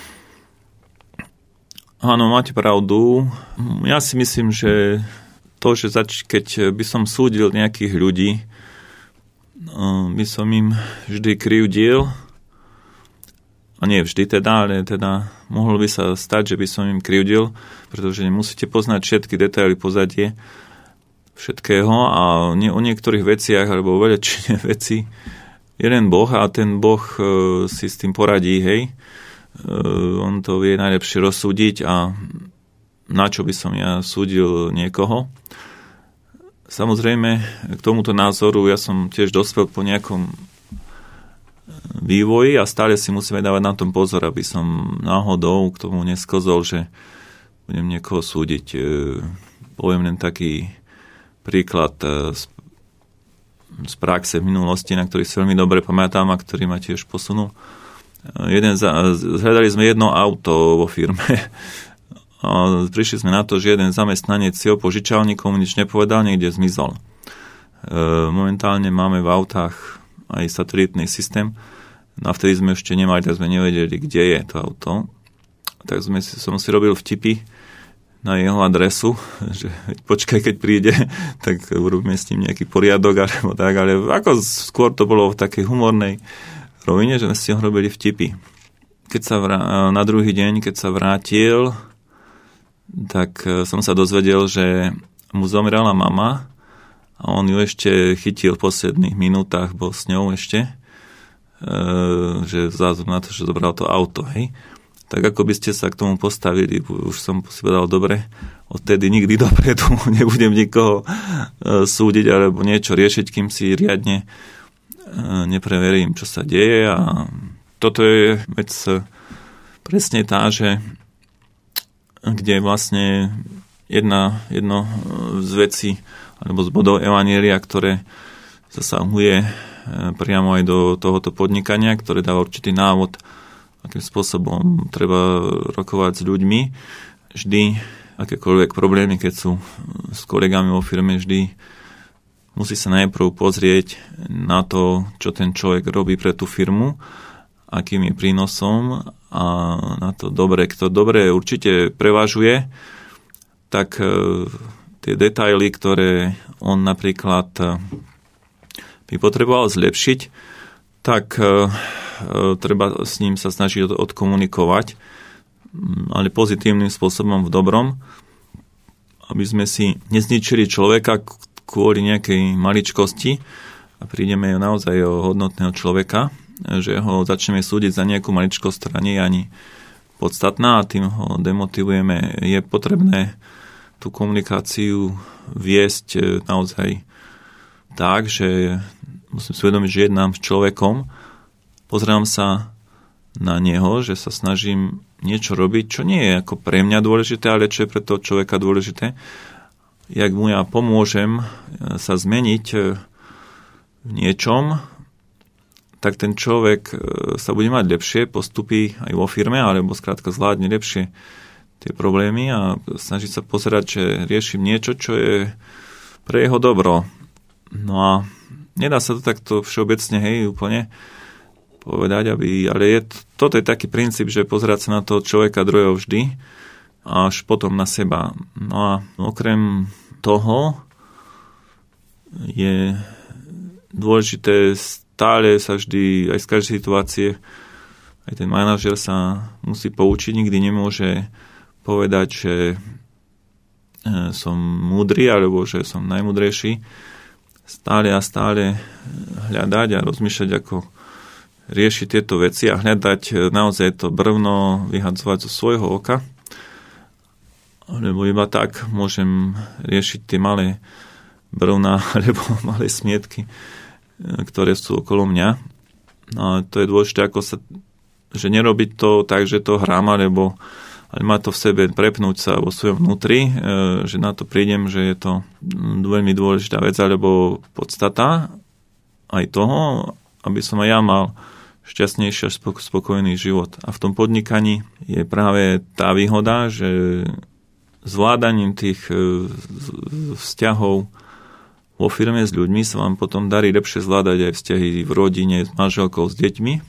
S2: Áno, máte pravdu. Ja si myslím, že to, že keď by som súdil nejakých ľudí, by som im vždy krivdil. A nie vždy teda, ale teda mohlo by sa stať, že by som im krivdil, pretože nemusíte poznať všetky detaily pozadie všetkého a o niektorých veciach alebo o veľačine veci jeden Boh a ten Boh si s tým poradí, hej. On to vie najlepšie rozsúdiť a na čo by som ja súdil niekoho. Samozrejme, k tomuto názoru ja som tiež dospel po nejakom vývoji a stále si musíme dávať na tom pozor, aby som náhodou k tomu nesklzol, že budem niekoho súdiť. Poviem len taký príklad z praxe v minulosti, na ktorý si veľmi dobre pamätám a ktorý ma tiež posunul. Zhľadali sme jedno auto vo firme a prišli sme na to, že jeden zamestnanec si ho požičal, nikomu nič nepovedal, niekde zmizol. Momentálne máme v autách aj satelitný systém. No a vtedy sme ešte nemali, tak sme nevedeli, kde je to auto. Tak som si robil vtipy na jeho adresu, že počkaj, keď príde, tak urobíme s ním nejaký poriadok, alebo tak, ale ako skôr to bolo v takej humornej rovine, že sme si ho robili vtipy. Na druhý deň, keď sa vrátil, tak som sa dozvedel, že mu zomrela mama a on ju ešte chytil v posledných minútach, bol s ňou ešte, že vzhľadom na to, že zobral to auto, hej. Tak ako by ste sa k tomu postavili, už som si povedal, dobre, odtedy nikdy dopredu nebudem nikoho súdiť alebo niečo riešiť, kým si riadne nepreverím, čo sa deje. A toto je vec presne tá, že kde vlastne jedno z vecí alebo z bodov evanjelia, ktoré zasahuje priamo aj do tohoto podnikania, ktoré dáva určitý návod, akým spôsobom treba rokovať s ľuďmi. Vždy akékoľvek problémy, keď sú s kolegami vo firme, vždy musí sa najprv pozrieť na to, čo ten človek robí pre tú firmu, akým je prínosom a na to dobre. Kto dobre určite prevažuje, tak tie detaily, ktoré on napríklad by potreboval zlepšiť, tak treba s ním sa snažiť odkomunikovať, ale pozitívnym spôsobom, v dobrom, aby sme si nezničili človeka, kvôli nejakej maličkosti a prídeme naozaj o hodnotného človeka, že ho začneme súdiť za nejakú maličkosť, ktorá nie je ani podstatná a tým ho demotivujeme. Je potrebné tú komunikáciu viesť naozaj tak, že musím si uvedomiť, že jednám s človekom, pozerám sa na neho, že sa snažím niečo robiť, čo nie je ako pre mňa dôležité, ale čo je pre toho človeka dôležité. Jak mu ja pomôžem sa zmeniť v niečom, tak ten človek sa bude mať lepšie, postupí aj vo firme, alebo skrátka zvládne lepšie tie problémy a snaží sa pozerať, že riešim niečo, čo je pre jeho dobro. No a nedá sa to takto všeobecne, úplne povedať, ale toto je taký princíp, že pozerať sa na toho človeka druhého vždy, až potom na seba. No a okrem toho je dôležité stále sa vždy, aj z každej situácie, aj ten manažer sa musí poučiť, nikdy nemôže povedať, že som múdry, alebo že som najmúdrejší. Stále a stále hľadať a rozmýšľať, ako riešiť tieto veci a hľadať naozaj to brvno, vyhadzovať zo svojho oka. Lebo iba tak môžem riešiť tie malé brvná alebo malé smietky, ktoré sú okolo mňa. No a to je dôležité, že nerobiť to tak, že to hrám, ale má to v sebe prepnúť sa vo svojom vnútri, že na to prídem, že je to veľmi dôležitá vec, alebo podstata aj toho, aby som aj ja mal šťastnejší a spokojný život. A v tom podnikaní je práve tá výhoda, že zvládaním tých vzťahov vo firme s ľuďmi sa vám potom darí lepšie zvládať aj vzťahy v rodine, s manželkou, s deťmi.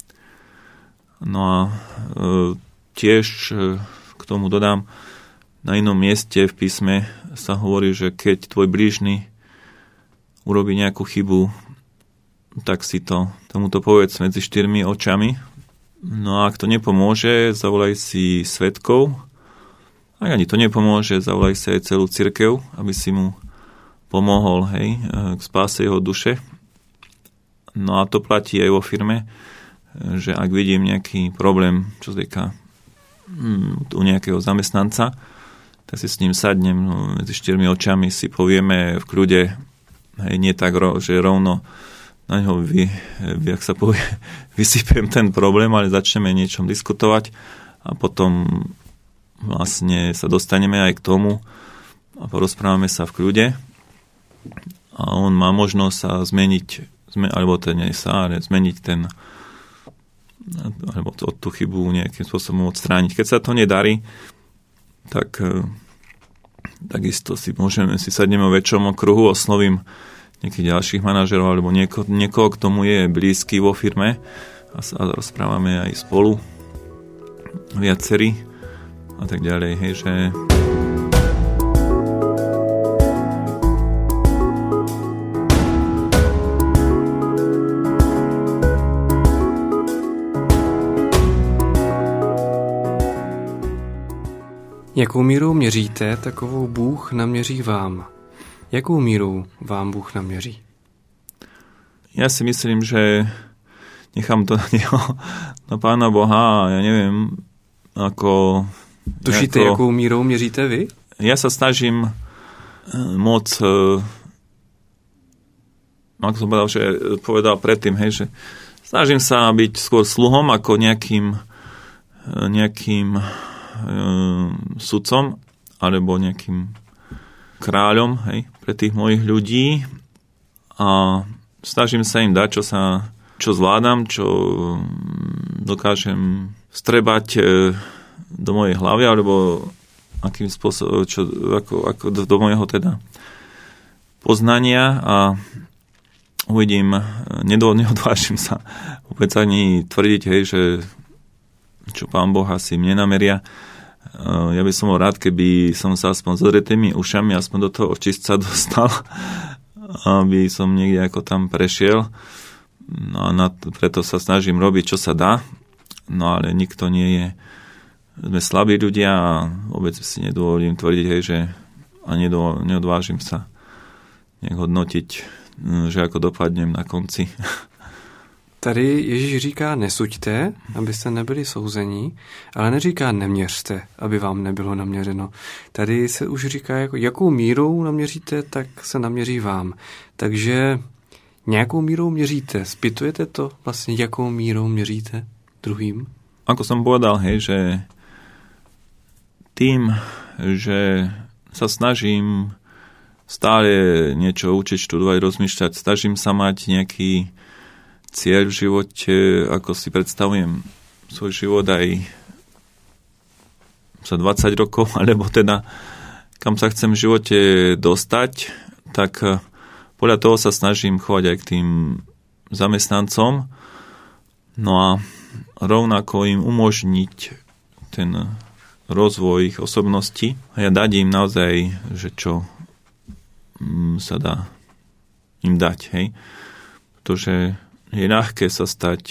S2: No a tiež k tomu dodám, na inom mieste v písme sa hovorí, že keď tvoj blížny urobí nejakú chybu, tak si tomuto povedz medzi 4 očami. No a ak to nepomôže, zavolaj si svedkov. Ak ani to nepomôže, zavolaj si aj celú cirkev, aby si mu pomohol, k spáse jeho duše. No a to platí aj vo firme, že ak vidím nejaký problém, čo sa týka u nejakého zamestnanca, tak si s ním sadnem medzi 4 očami, si povieme v kľude, nie tak, že rovno na ňo jak sa povie, vysypem ten problém, ale začneme niečom diskutovať a potom vlastne sa dostaneme aj k tomu a porozprávame sa v kľude a on má možnosť sa zmeniť, alebo zmeniť ten alebo tú chybu nejakým spôsobom odstrániť. Keď sa to nedarí, tak takisto si sadneme o väčšom okruhu, oslovím nejakých ďalších manažerov alebo niekoho, k tomu je blízky vo firme a rozprávame aj spolu viacerí a tak ďalej, že
S1: Jakou míru měříte, takovou Bůh naměří vám. Jakou míru vám Bůh naměří?
S2: Ja si myslím, že nechám to na Pána Boha a ja neviem, ako...
S1: Tušíte, jakou mírou měříte vy?
S2: Ja sa snažím moc, ako som povedal predtým, že snažím sa byť skôr sluhom ako nejakým sudcom alebo nejakým kráľom pre tých mojich ľudí a snažím sa im dať, čo zvládam, čo dokážem strebať do mojej hlavy alebo akým spôsobom, ako do mojho teda poznania a uvidím, neodvážim sa vôbec ani tvrdiť, že čo Pán Boh asi mne nameria. Ja by som bol rád, keby som sa aspoň s odretými ušami aspoň do toho očistca dostal, aby som niekde ako tam prešiel. No a preto sa snažím robiť, čo sa dá. No ale nikto nie je... Sme slabí ľudia a vôbec si nedovolím tvrdiť, že a neodvážim sa nejak hodnotiť, že ako dopadnem na konci.
S1: Tady Ježíš říká nesuďte, abyste nebyli souzení, ale neříká neměřte, aby vám nebylo naměřeno. Tady se už říká, jakou mírou naměříte, tak se naměří vám. Takže nějakou mírou měříte. Spýtujete to vlastně, jakou mírou měříte druhým?
S2: Ako som povedal, že tým, že sa snažím stále niečo učiť, študovať, rozmýšľať, snažím sa mať nejaký cieľ v živote, ako si predstavujem svoj život aj za 20 rokov, alebo teda kam sa chcem v živote dostať, tak podľa toho sa snažím chovať aj k tým zamestnancom. No a rovnako im umožniť ten rozvoj ich osobnosti a ja dať im naozaj, že čo sa dá im dať, hej. Pretože je ľahké sa stať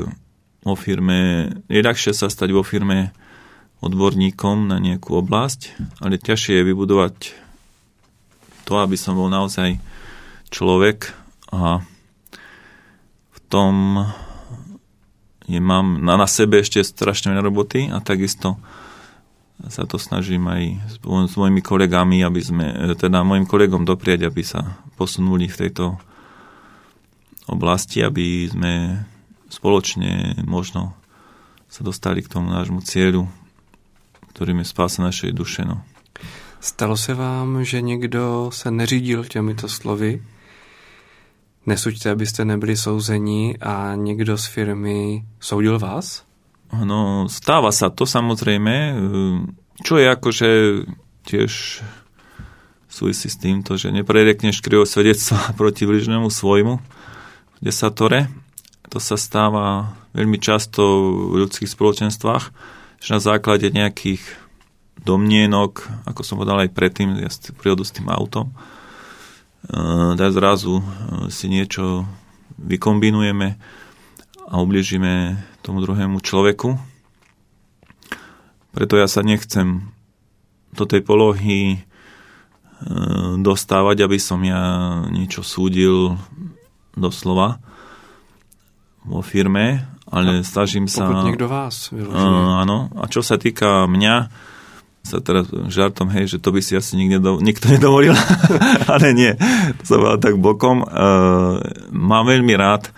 S2: je ľahšie sa stať vo firme odborníkom na nejakú oblasť, ale ťažšie je vybudovať to, aby som bol naozaj človek a v tom mám na sebe ešte strašne veľa roboty a takisto sa to snažím aj s mojimi kolegami, aby sme, teda mojim kolegom doprieť, aby sa posunuli v tejto oblasti, aby sme spoločne možno sa dostali k tomu nášmu cieľu, ktorým je spása našej duše. No.
S1: Stalo se vám, že někdo se neřídil těmito slovy? Nesuďte, abyste nebyli souzení a někdo z firmy soudil vás?
S2: No, stáva sa to samozrejme, čo je akože tiež súvisí s týmto, že neprerekneš krivo svedectvo proti bližnému svojmu v desatore. To sa stáva veľmi často v ľudských spoločenstvách, že na základe nejakých domnienok, ako som povedal aj predtým, ja si prírodu s tým autom, tak zrazu si niečo vykombinujeme a ubližíme tomu druhému človeku. Preto ja sa nechcem do tej polohy dostávať, aby som ja niečo súdil doslova vo firme, ale snažím sa...
S1: Pokud niekto vás vyloží.
S2: Áno. A čo sa týka mňa, sa teraz žartom, že to by si asi nikto nedovolil, ale nie, to sa bolo tak bokom. Mám veľmi rád,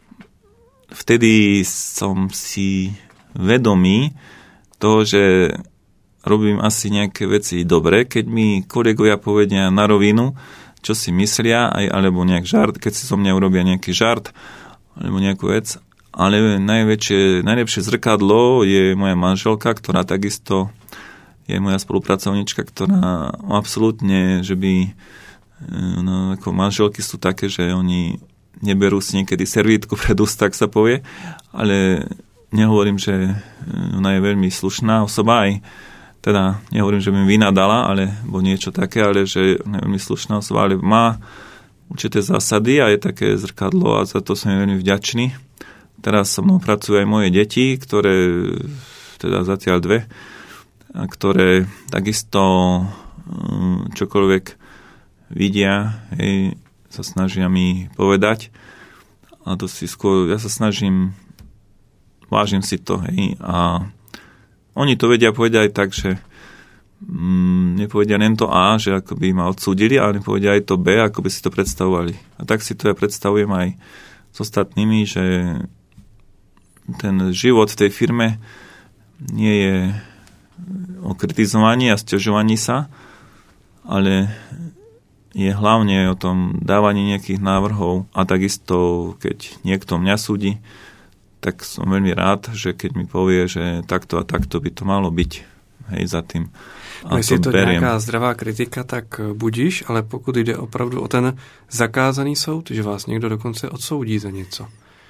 S2: vtedy som si vedomý toho, že robím asi nejaké veci dobre, keď mi kolegovia povedia na rovinu, čo si myslia, alebo nejak žart, keď si so mňa urobia nejaký žart, alebo nejakú vec. Ale najlepšie zrkadlo je moja manželka, ktorá takisto je moja spolupracovníčka, ktorá absolútne, že by ako manželky sú také, že oni neberú si niekedy servítku pred ústa, tak sa povie, ale nehovorím, že ona je veľmi slušná osoba, aj teda nehovorím, že by mi vynadala, alebo niečo také, ale že ona je veľmi slušná osoba, ale má určité zásady a je také zrkadlo a za to som veľmi vďačný. Teraz so mnou pracujú aj moje deti, ktoré, teda zatiaľ 2, ktoré takisto čokoľvek vidia, sa snažia mi povedať a to si skôr, ja sa snažím, vážim si to, a oni to vedia povedať aj tak, že nepovedia len to A, že ako by ma odsúdili, ale nepovedia aj to B, ako by si to predstavovali. A tak si to ja predstavujem aj s ostatnými, že ten život v tej firme nie je o kritizovaní a sťažovaní sa, ale je hlavne o tom dávaní nejakých návrhov a takisto, keď niekto mňa súdi, tak som veľmi rád, že keď mi povie, že takto a takto by to malo byť, za tým.
S1: A jestli je to nějaká zdravá kritika, tak budíš, ale pokud jde opravdu o ten zakázaný soud, že vás někdo dokonce odsoudí za něco.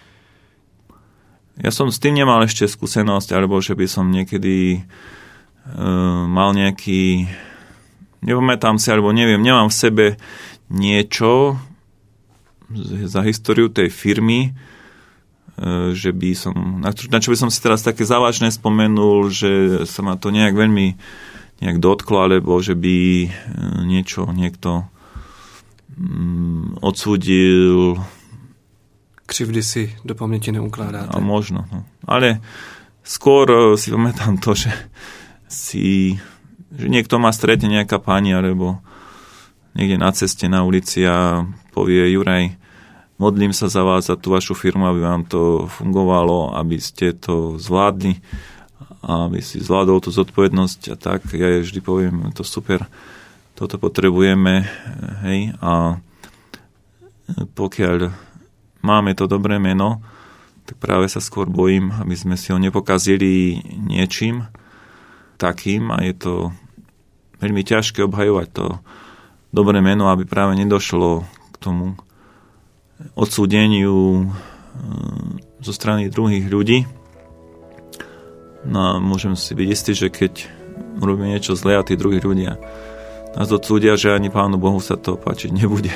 S2: Ja som s tým nemal ešte skúsenosť, alebo že by som niekedy mal nejaký, nepamätám si, alebo neviem, nemám v sebe niečo za históriu tej firmy, že by som, na čo by som si teraz také závažné spomenul, že sa ma to nejak veľmi dotklo, alebo že by niekto odsúdil.
S1: Křivdy si do paměti neukládáte.
S2: A možno. No. Ale skôr si pamätám to, že niekto ma stretne, nejaká pani, alebo niekde na ceste, na ulici a povie: Juraj, modlím sa za vás, za tú vašu firmu, aby vám to fungovalo, aby ste to zvládli, aby si zvládol tú zodpovednosť a tak. Ja vždy poviem: to super, toto potrebujeme, hej, a pokiaľ máme to dobré meno, tak práve sa skôr bojím, aby sme si ho nepokazili niečím takým, a je to veľmi ťažké obhajovať to dobré meno, aby práve nedošlo k tomu odsúdeniu zo strany druhých ľudí. No a môžem si byť istý, že keď urobíme niečo zlé a tí druhí ľudia nás odsúdia, že ani Pánu Bohu sa to páčiť nebude.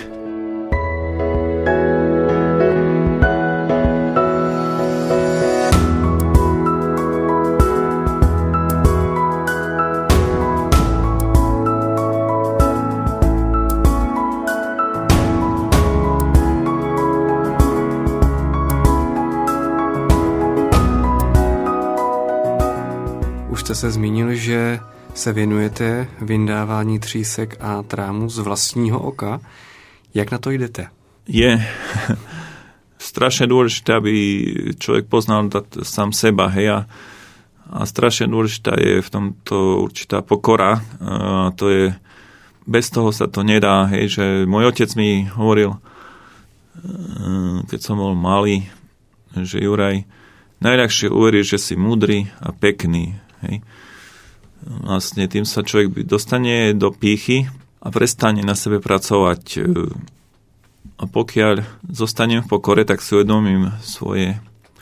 S1: Jste se zmínil, že se věnujete vyndávání třísek a trámu z vlastního oka. Jak na to jdete?
S2: Je strašne dôležité, aby človek poznal sám seba, hej, a strašne dôležitá je v tomto určitá pokora. A to je, bez toho sa to nedá, hej, že môj otec mi hovoril, keď som bol malý, že Juraj, najľahšie uveriť, že si múdry a pekný. Hej. Vlastne tým sa človek dostane do pýchy a prestane na sebe pracovať. A pokiaľ zostanem v pokore, tak si uvedomím svoje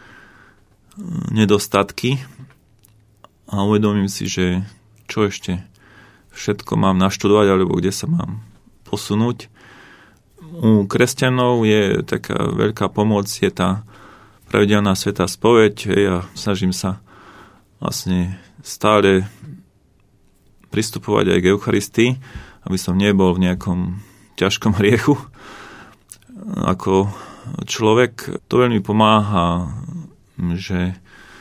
S2: nedostatky a uvedomím si, že čo ešte všetko mám naštudovať, alebo kde sa mám posunúť. U kresťanov je taká veľká pomoc, je tá pravidelná svätá spoveď. Ja snažím sa vlastne stále pristupovať aj k Eucharistii, aby som nebol v nejakom ťažkom hriechu ako človek. To veľmi pomáha, že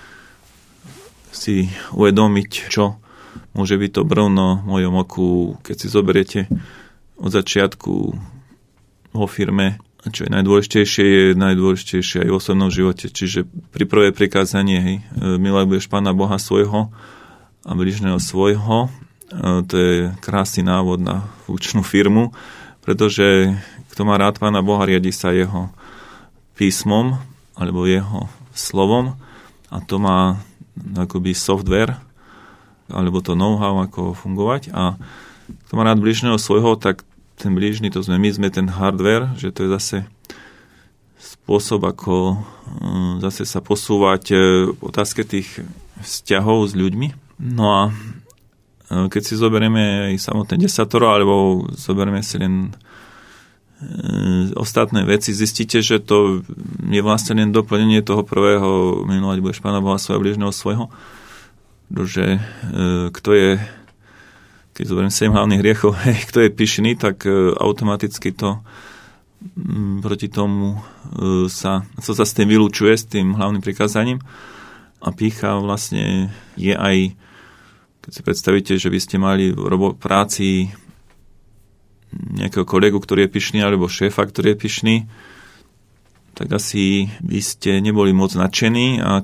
S2: si uvedomiť, čo môže byť to brvno v mojom oku, keď si zoberiete od začiatku vo firme, čo je najdôležitejšie aj v osobnom živote. Čiže pri prvé prikázanie, hej, miluješ Pána Boha svojho a bližného svojho. To je krásny návod na funkčnú firmu, pretože kto má rád Pána Boha, riadi sa jeho písmom alebo jeho slovom, a to má akoby software alebo to know-how, ako fungovať. A kto má rád bližného svojho, tak ten blížny, to sme ten hardware, že to je zase spôsob, ako zase sa posúvať v otázke tých vzťahov s ľuďmi. No a keď si zoberieme aj samotné desatoro, alebo zoberieme si len ostatné veci, zistíte, že to je vlastne len doplnenie toho prvého: milovať budeš Pána Boha svojho, blížneho svojho. Pretože kto je, keď zoberiem 7 hlavných hriechov, kto je pyšný, tak automaticky to proti tomu sa s tým vylúčuje, s tým hlavným prikázaním. A pýcha vlastne je aj, keď si predstavíte, že by ste mali v práci nejakého kolegu, ktorý je pyšný, alebo šéfa, ktorý je pyšný, tak asi by ste neboli moc nadšení, a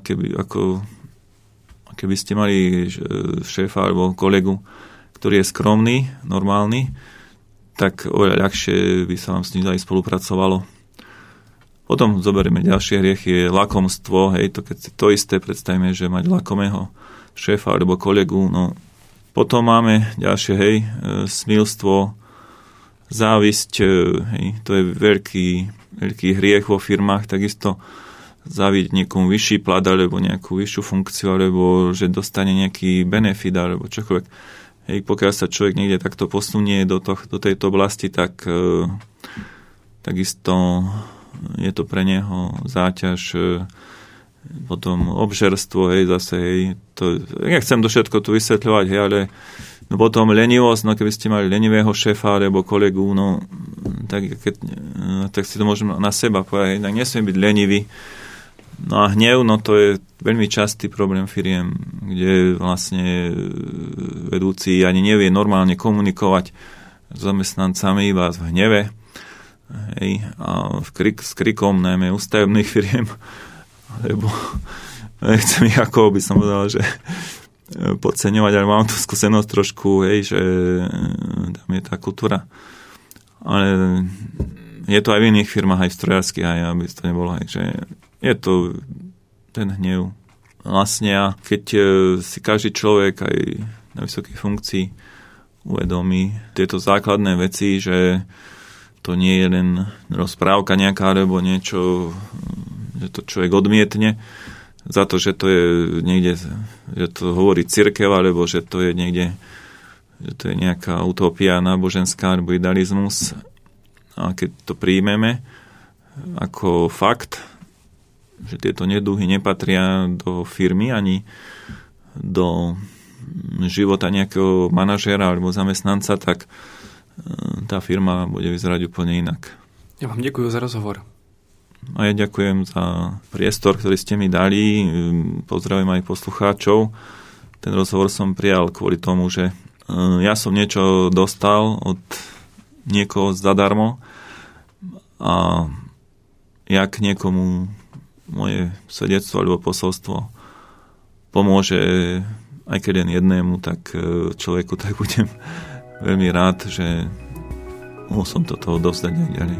S2: keby ste mali šéfa alebo kolegu, ktorý je skromný, normálny, tak oveľa ľahšie by sa vám s ním aj spolupracovalo. Potom zoberieme ďalšie hriechy, je lakomstvo, hej, to keď si to isté predstavíme, že mať lakomého šéfa alebo kolegu, no potom máme ďalšie, hej, smilstvo, závisť, hej, to je veľký hriech vo firmách, takisto záviť niekomu vyšší plat alebo nejakú vyššiu funkciu, alebo že dostane nejaký benefit alebo čokoľvek. Hej, pokiaľ sa človek niekde takto posunie do tejto oblasti, tak takisto je to pre neho záťaž, potom obžerstvo, hej, zase, hej, to, nechcem to všetko tu vysvetľovať, hej, ale no potom lenivosť, no keby ste mali lenivého šéfa alebo kolegu, no tak si to môžem na seba povedať, tak nesmiem byť lenivý. No a hnev, no to je veľmi častý problém firiem, kde vlastne vedúci ani nevie normálne komunikovať s zamestnancami iba v hneve. Hej, a s krikom najmä ústavných firiem, lebo nechcem ich, ako by som povedal, že podceňovať, ale mám tu skúsenosť trošku, hej, že tam je tá kultúra. Ale je to aj v iných firmách, aj v strojárskych, aj aby to nebolo, hej, že je to ten hnev. Vlastne a keď si každý človek aj na vysokej funkcii uvedomí tieto základné veci, že to nie je len rozprávka nejaká, alebo niečo, že to človek odmietne za to, že to je niekde, že to hovorí cirkev, alebo že to je niekde, že to je nejaká utopia náboženská, alebo idealizmus. A keď to príjmeme ako fakt, že tieto neduhy nepatria do firmy ani do života nejakého manažéra alebo zamestnanca, tak tá firma bude vyzerať úplne inak.
S1: Ja vám ďakujem za rozhovor.
S2: A ja ďakujem za priestor, ktorý ste mi dali. Pozdravujem aj poslucháčov. Ten rozhovor som prijal kvôli tomu, že ja som niečo dostal od niekoho zadarmo a jak niekomu moje svedectvo alebo posolstvo pomôže aj keď len jednému, tak človeku, tak budem veľmi rád, že mohol som toto odovzdať aj ďalej.